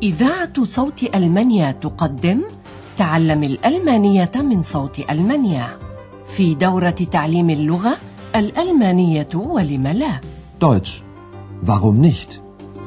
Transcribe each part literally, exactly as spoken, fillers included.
إذاعة صوت ألمانيا تقدم تعلم الألمانية من صوت ألمانيا في دورة تعليم اللغة الألمانية ولم لا. Deutsch. Warum nicht?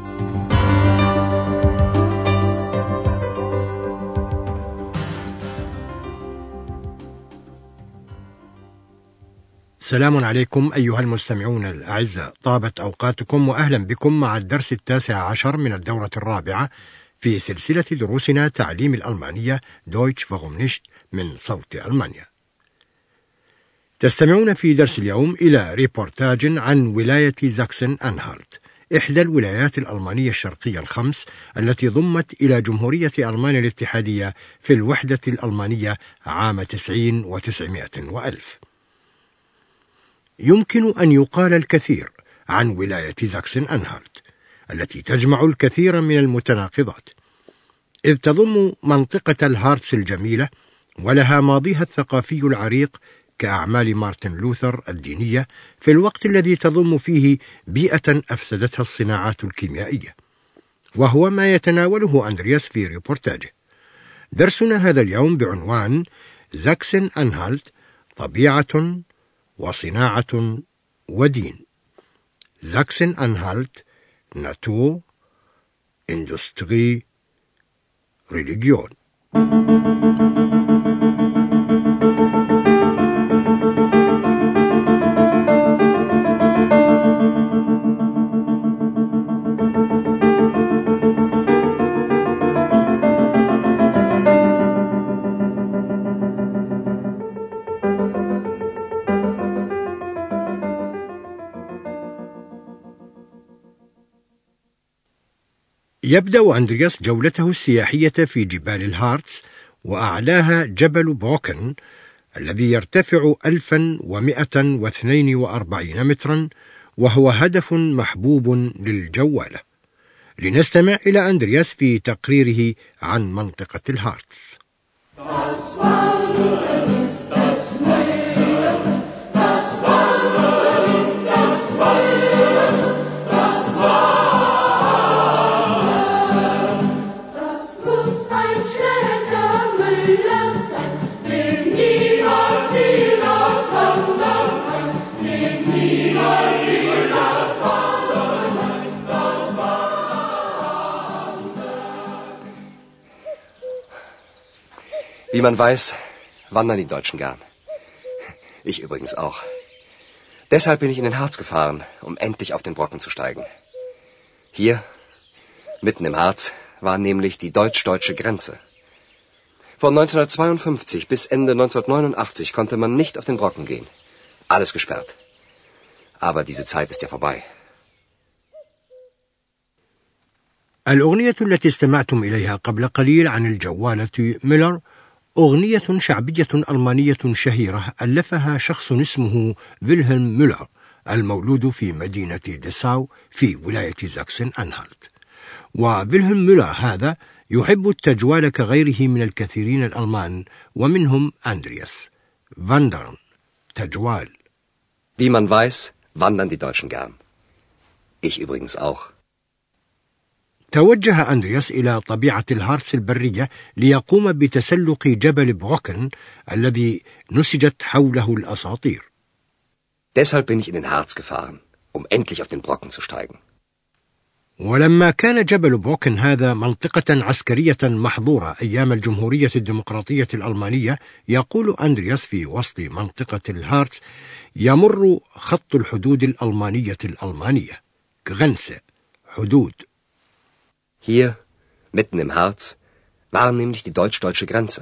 السلام عليكم أيها المستمعون الأعزاء، طابت أوقاتكم وأهلا بكم مع الدرس التاسع عشر من الدورة الرابعة في سلسلة دروسنا تعليم الألمانية Deutsch warum nicht من صوت ألمانيا. تستمعون في درس اليوم إلى ريبورتاج عن ولاية زاكسن أنهالت، إحدى الولايات الألمانية الشرقية الخمس التي ضمت إلى جمهورية ألمانيا الاتحادية في الوحدة الألمانية عام تسعين وتسعمائة وألف. يمكن أن يقال الكثير عن ولاية زاكسن أنهالت التي تجمع الكثير من المتناقضات، إذ تضم منطقة الهارتس الجميلة ولها ماضيها الثقافي العريق كأعمال مارتن لوثر الدينية، في الوقت الذي تضم فيه بيئة أفسدتها الصناعات الكيميائية، وهو ما يتناوله أندرياس في ريبورتاجه. درسنا هذا اليوم بعنوان زاكسن أنهالت طبيعة وصناعة ودين. زاكسن أنهالت ناتور إندستري ريليجيون. يبدأ أندرياس جولته السياحية في جبال الهارتس، وأعلاها جبل بروكن الذي يرتفع ألفا ومائة واثنين وأربعين مترا، وهو هدف محبوب للجولة. لنستمع إلى أندرياس في تقريره عن منطقة الهارتس. Wie man weiß, wandern die Deutschen gern. Ich übrigens auch. Deshalb bin ich in den Harz gefahren, um endlich auf den Brocken zu steigen. Hier, mitten im Harz, war nämlich die deutsch-deutsche Grenze. Von neunzehnhundertzweiundfünfzig bis Ende neunzehnhundertneunundachtzig konnte man nicht auf den Brocken gehen. Alles gesperrt. Aber diese Zeit ist ja vorbei. الأغنية التي استمعتم إليها قبل قليل عن الجوالة ميلر أغنية شعبية ألمانية شهيرة ألفها شخص اسمه فيلهلم ميلر، المولود في مدينة ديساو في ولاية زاكسن أنهالت. وفيلهلم ميلر هذا يحب التجوال كغيره من الكثيرين الألمان، ومنهم أندرياس. Wandern تجوال. Wie man weiß, wandern die Deutschen gern. Ich übrigens auch. توجه أندرياس إلى طبيعة الهارتس البرية ليقوم بتسلق جبل بروكن الذي نسجت حوله الأساطير. Deshalb bin ich in den Harz gefahren, um endlich auf den Brocken zu steigen. ولما كان جبل بروكن هذا منطقة عسكرية محظورة أيام الجمهورية الديمقراطية الألمانية، يقول أندرياس في وسط منطقة الهارتس يمر خط الحدود الألمانية الألمانية Grenze حدود. Hier, mitten im Harz, war nämlich die deutsch-deutsche Grenze.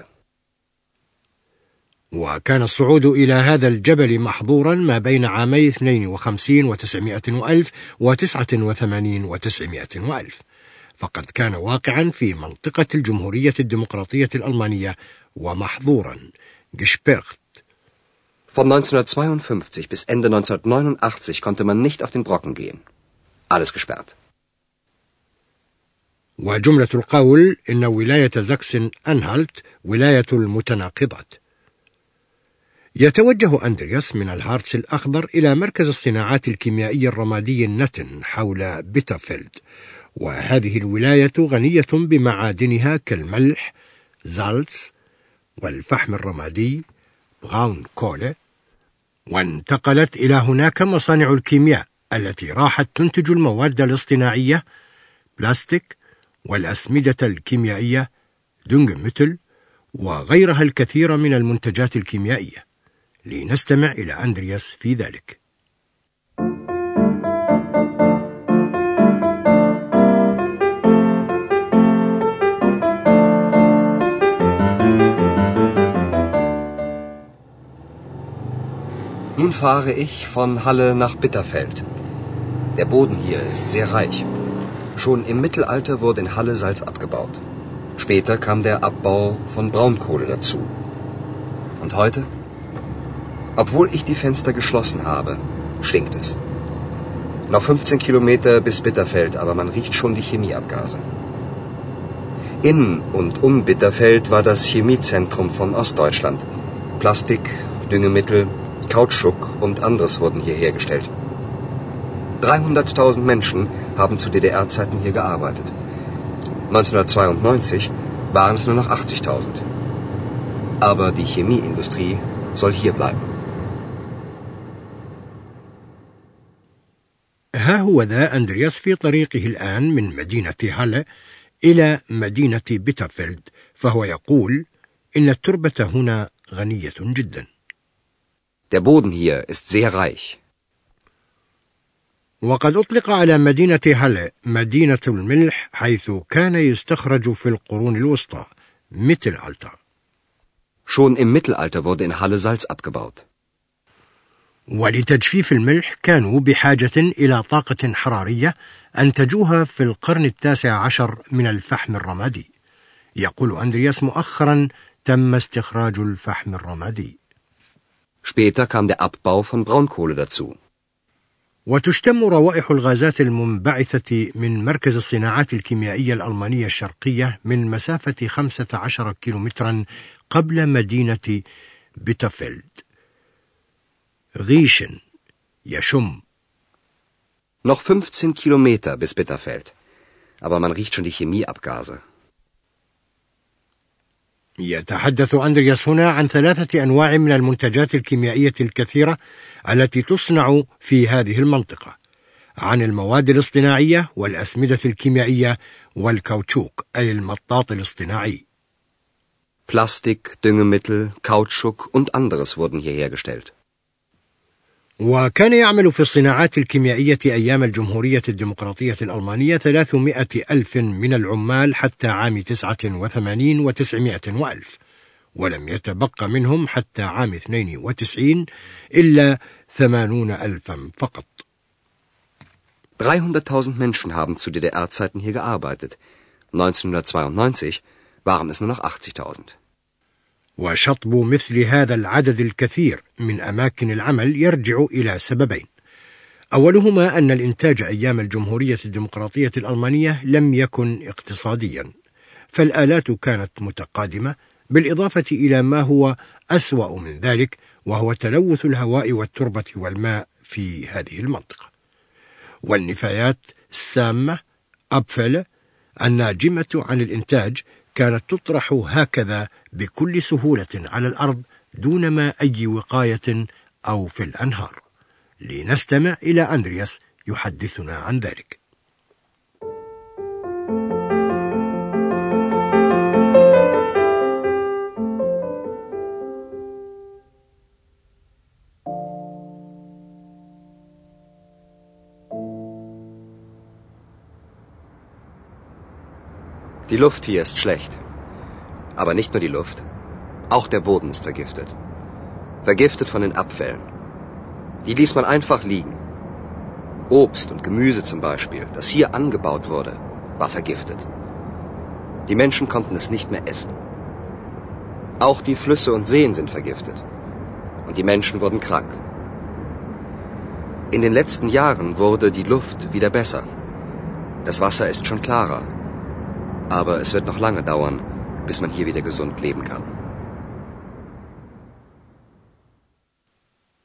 وكان الصعود إلى هذا الجبل محظورا ما بين عامي اثنين وخمسين وتسعمائة وألف وتسعة وثمانين وتسعمائة وألف، فقد كان واقعا في منطقة الجمهورية الديمقراطية الألمانية ومحظورا gesperrt. Von neunzehnhundertzweiundfünfzig bis Ende neunzehnhundertneunundachtzig konnte man nicht auf den Brocken gehen. Alles gesperrt. وجملة القول إن ولاية زاكسن أنهالت ولاية المتناقضات. يتوجه أندرياس من الهارتس الأخضر إلى مركز الصناعات الكيميائية الرمادي النتن حول بيترفيلد، وهذه الولاية غنية بمعادنها كالملح زالتس والفحم الرمادي براون كولة، وانتقلت إلى هناك مصانع الكيمياء التي راحت تنتج المواد الاصطناعية بلاستيك والأسمدة الكيميائية دونغميتل وغيرها الكثير من المنتجات الكيميائية. لنستمع إلى أندرياس في ذلك. Nun fahre ich von Halle nach Bitterfeld. Der Boden hier ist sehr reich. Schon im Mittelalter wurde in Halle Salz abgebaut. Später kam der Abbau von Braunkohle dazu. Und heute? Obwohl ich die Fenster geschlossen habe, stinkt es. Noch fünfzehn Kilometer bis Bitterfeld, aber man riecht schon die Chemieabgase. In und um Bitterfeld war das Chemiezentrum von Ostdeutschland. Plastik, Düngemittel, Kautschuk und anderes wurden hier hergestellt. dreihunderttausend Menschen haben zu D D R-Zeiten hier gearbeitet. neunzehnhundertzweiundneunzig waren es nur noch achtzigtausend. Aber die Chemieindustrie soll hier bleiben. ها هو ذا أندرياس في طريقه الآن من مدينة هالة إلى مدينة بيترفيلد، فهو يقول إن التربة هنا غنية جدا. Der Boden hier ist sehr reich. وقد أطلق على مدينة هالة مدينة الملح، حيث كان يستخرج في القرون الوسطى Mittelalter. Schon im Mittelalter wurde in Halle Salz abgebaut. ولتجفيف الملح كانوا بحاجة إلى طاقة حرارية أنتجوها في القرن التاسع عشر من الفحم الرمادي. يقول أندرياس مؤخرا تم استخراج الفحم الرمادي. Später kam der Abbau von Braunkohle dazu. وتشتم روائح الغازات المنبعثة من مركز الصناعات الكيميائية الألمانية الشرقية من مسافة خمسة عشر كيلومترا قبل مدينة بيترفيلد. Riechen, يشم. Noch fünfzehn Kilometer bis Bitterfeld. Aber man riecht schon die Chemieabgase. يتحدث أندرياس هنا عن ثلاثة أنواع من المنتجات الكيميائية الكثيرة التي تصنع في هذه المنطقة، عن المواد الاصطناعية والأسمدة الكيميائية والكاوتشوك أي المطاط الاصطناعي. Plastik, Düngemittel, Kautschuk und anderes wurden hier hergestellt. وكان يعمل في الصناعات الكيميائية أيام الجمهورية الديمقراطية الألمانية ثلاثمائة ألف من العمال حتى عام تسعة وثمانين وتسعمائة وألف، ولم يتبقى منهم حتى عام اثنين وتسعين إلا ثمانون ألفا فقط. dreihunderttausend Menschen haben zu D D R-Zeiten hier gearbeitet. neunzehnhundertzweiundneunzig waren es nur noch achtzigtausend. وشطب مثل هذا العدد الكثير من أماكن العمل يرجع إلى سببين. أولهما أن الإنتاج أيام الجمهورية الديمقراطية الألمانية لم يكن اقتصاديا، فالآلات كانت متقادمة، بالإضافة إلى ما هو أسوأ من ذلك وهو تلوث الهواء والتربة والماء في هذه المنطقة. والنفايات السامة أبفل الناجمة عن الإنتاج كانت تطرح هكذا بكل سهولة على الأرض دون ما أي وقاية أو في الأنهار. لنستمع إلى أندرياس يحدثنا عن ذلك. Die Luft hier ist schlecht. Aber nicht nur die Luft. Auch der Boden ist vergiftet. Vergiftet von den Abfällen. Die ließ man einfach liegen. Obst und Gemüse zum Beispiel, das hier angebaut wurde, war vergiftet. Die Menschen konnten es nicht mehr essen. Auch die Flüsse und Seen sind vergiftet. Und die Menschen wurden krank. In den letzten Jahren wurde die Luft wieder besser. Das Wasser ist schon klarer. Aber es wird noch lange dauern, bis man hier wieder gesund leben kann.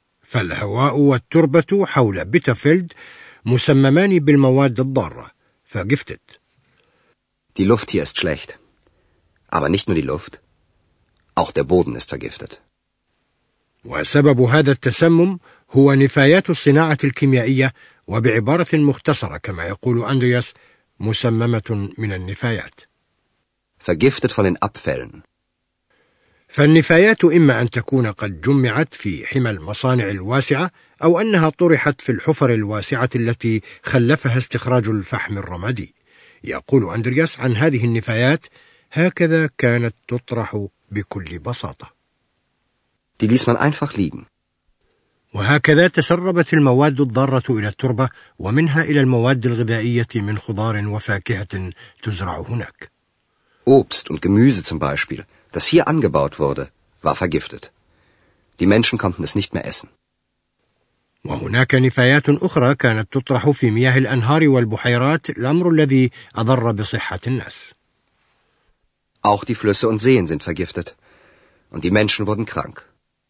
فالهواء والتربة حول بيترفيلد مسممان بالمواد الضارة، vergiftet. Die Luft hier ist schlecht. Aber nicht nur die Luft. Auch der Boden ist vergiftet. وسبب هذا التسمم هو نفايات الصناعة الكيميائية، وبعبارة مختصرة كما يقول أندرياس مسممة من النفايات. Vergiftet von den Abfällen. فالنفايات إما أن تكون قد جمعت في حمى المصانع الواسعة، أو أنها طرحت في الحفر الواسعة التي خلفها استخراج الفحم الرمادي. يقول أندرياس عن هذه النفايات: هكذا كانت تطرح بكل بساطة. Die ließ man einfach liegen. وهكذا تسربت المواد الضارة إلى التربة، ومنها إلى المواد الغذائية من خضار وفاكهة تزرع هناك. Obst und Gemüse zum Beispiel, das hier angebaut wurde, war vergiftet. Die Menschen konnten es nicht mehr essen. وهناك نفايات أخرى كانت تطرح في مياه الأنهار والبحيرات، الأمر الذي أضر بصحة الناس. Auch die Flüsse und Seen sind vergiftet. Und die Menschen wurden krank.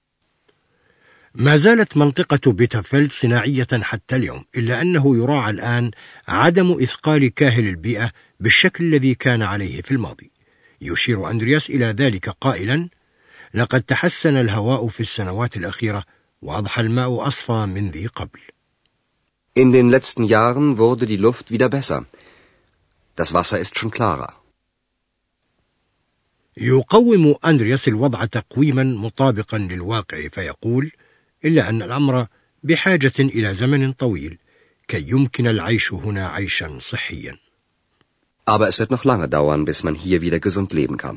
ما زالت منطقة بيترفيلد صناعية حتى اليوم، إلا أنه يراعى الآن عدم إثقال كاهل البيئة بالشكل الذي كان عليه في الماضي. يشير أندرياس إلى ذلك قائلا: لقد تحسن الهواء في السنوات الأخيرة، وأضحى الماء أصفى من ذي قبل. In den letzten Jahren wurde die Luft wieder besser. Das Wasser ist schon klarer. يقوم أندرياس الوضع تقويما مطابقا للواقع، فيقول: إلا أن الأمر بحاجة إلى زمن طويل كي يمكن العيش هنا عيشا صحيا. Aber es wird noch lange dauern, bis man hier wieder gesund leben kann.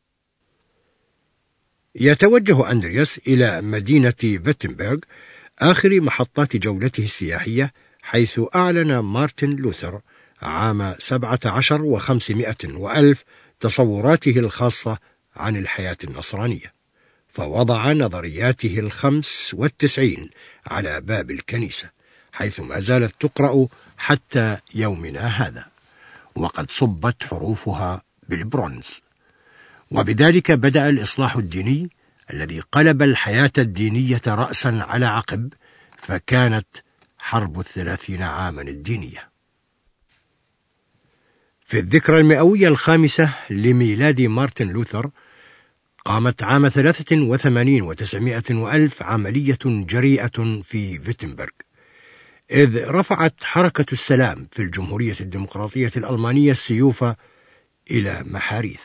يتوجه أندرياس إلى مدينة فيتنبرغ، آخر محطات جولته السياحية، حيث أعلن مارتن لوثر عام سبعة عشر وخمسمائة وألف تصوراته الخاصة عن الحياة النصرانية، فوضع نظرياته الخمس والتسعين على باب الكنيسة، حيث ما زالت تقرأ حتى يومنا هذا، وقد صبت حروفها بالبرونز. وبذلك بدأ الإصلاح الديني الذي قلب الحياة الدينية رأسا على عقب، فكانت حرب الثلاثين عاما الدينية. في الذكرى المئوية الخامسة لميلاد مارتن لوثر، قامت عام ثلاثة وثمانين وتسعمائة وألف عملية جريئة في فيتنبرغ، إذ رفعت حركة السلام في الجمهورية الديمقراطية الألمانية السيوف إلى محاريث.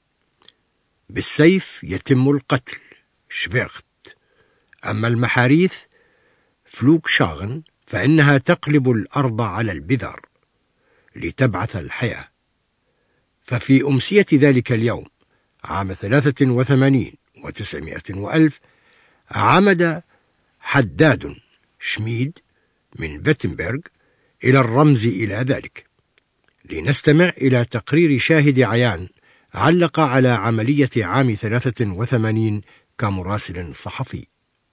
بالسيف يتم القتل، شفيغت، أما المحاريث فلوكشاغن فإنها تقلب الأرض على البذار لتبعث الحياة. ففي أمسية ذلك اليوم عام ثلاثة وثمانين وتسعمائة وألف عمد حداد شميد من فيتنبرغ إلى الرمز إلى ذلك. لنستمع إلى تقرير شاهد عيان علق على عملية عام ثلاثة وثمانين كمراسل صحفي.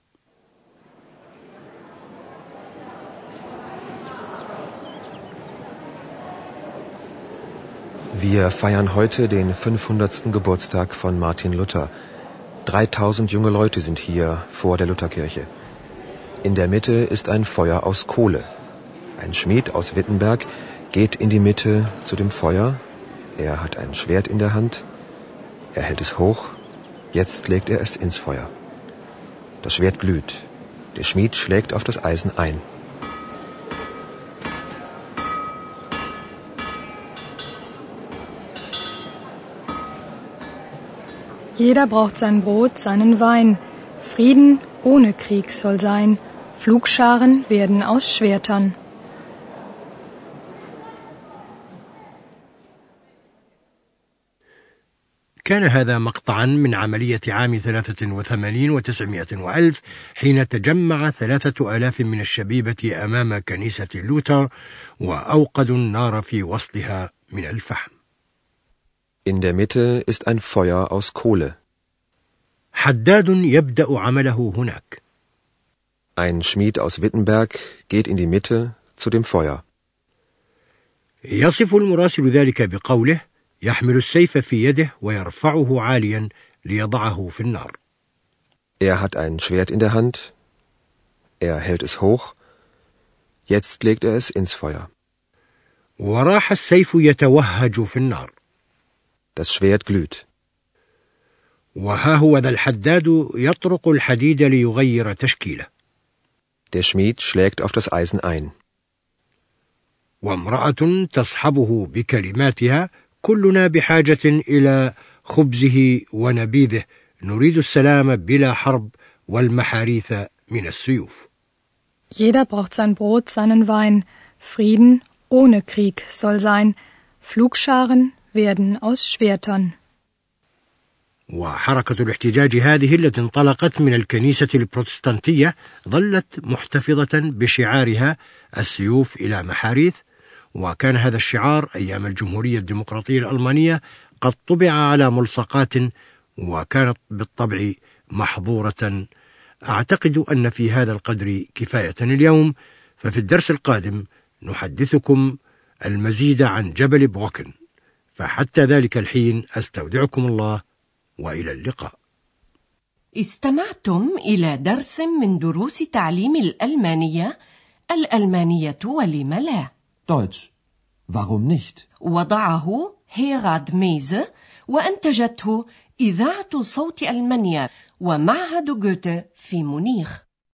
Wir feiern heute den fünfhundertsten Geburtstag von Martin Luther. Dreitausend junge Leute sind hier vor der Lutherkirche. In der Mitte ist ein Feuer aus Kohle. Ein Schmied aus Wittenberg geht in die Mitte zu dem Feuer. Er hat ein Schwert in der Hand. Er hält es hoch. Jetzt legt er es ins Feuer. Das Schwert glüht. Der Schmied schlägt auf das Eisen ein. Jeder braucht sein Brot, seinen Wein. Frieden ohne Krieg soll sein. Pflugscharen werden aus Schwertern. كان هذا مقطعا من عملية عام ثلاثة وثمانين وتسعمائة وألف، حين تجمع ثلاثة آلاف من الشبيبة أمام كنيسة لوثر وأوقدوا النار في وسطها من الفحم. In der Mitte ist ein Feuer aus Kohle. حداد يبدأ عمله هناك. Ein Schmied aus Wittenberg geht in die Mitte zu dem Feuer. يصف المراسل ذلك بقوله: يحمل السيف في يده ويرفعه عاليا ليضعه في النار. Er hat ein Schwert in der Hand. Er hält es hoch. Jetzt legt er es ins Feuer. وراح السيف يتوهج في النار. Das Schwert glüht. وها هو ذا الحداد يطرق الحديد ليغير تشكيله. Der Schmied schlägt auf das Eisen ein. وامرأة تصحبه بكلماتها: كلنا بحاجة إلى خبزه ونبيذه، نريد السلام بلا حرب والمحاريث من السيوف. Jeder braucht sein Brot, seinen Wein. Frieden ohne Krieg soll sein. Flugscharen werden aus Schwertern. وحركة الاحتجاج هذه التي انطلقت من الكنيسة البروتستانتية ظلت محتفظة بشعارها السيوف إلى محاريث، وكان هذا الشعار أيام الجمهورية الديمقراطية الألمانية قد طبع على ملصقات، وكانت بالطبع محظورة. أعتقد أن في هذا القدر كفاية اليوم، ففي الدرس القادم نحدثكم المزيد عن جبل بروكن، فحتى ذلك الحين أستودعكم الله وإلى اللقاء. استمعتم إلى درس من دروس تعليم الألمانية. الألمانية ولم لا. Deutsch. Warum nicht? وضعه هيراد ميزه، وأنتجته إذاعة صوت ألمانيا ومعهد جوته في مونيخ.